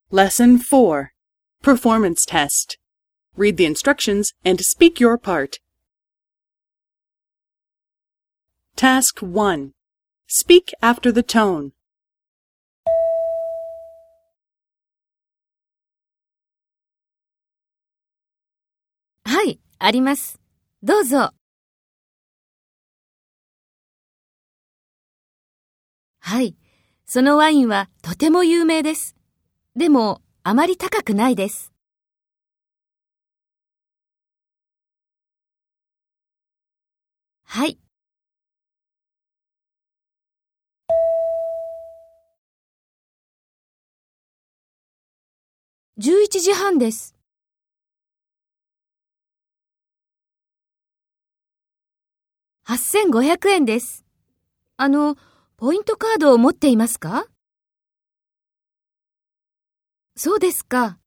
Lesson 4. Performance Test. Read the instructions and speak your part. Task 1. Speak after the tone. はい、あります。どうぞ。はい、そのワインはとても有名です。でも、あまり高くないです。はい。11時半です。8500円です。ポイントカードを持っていますか？そうですか。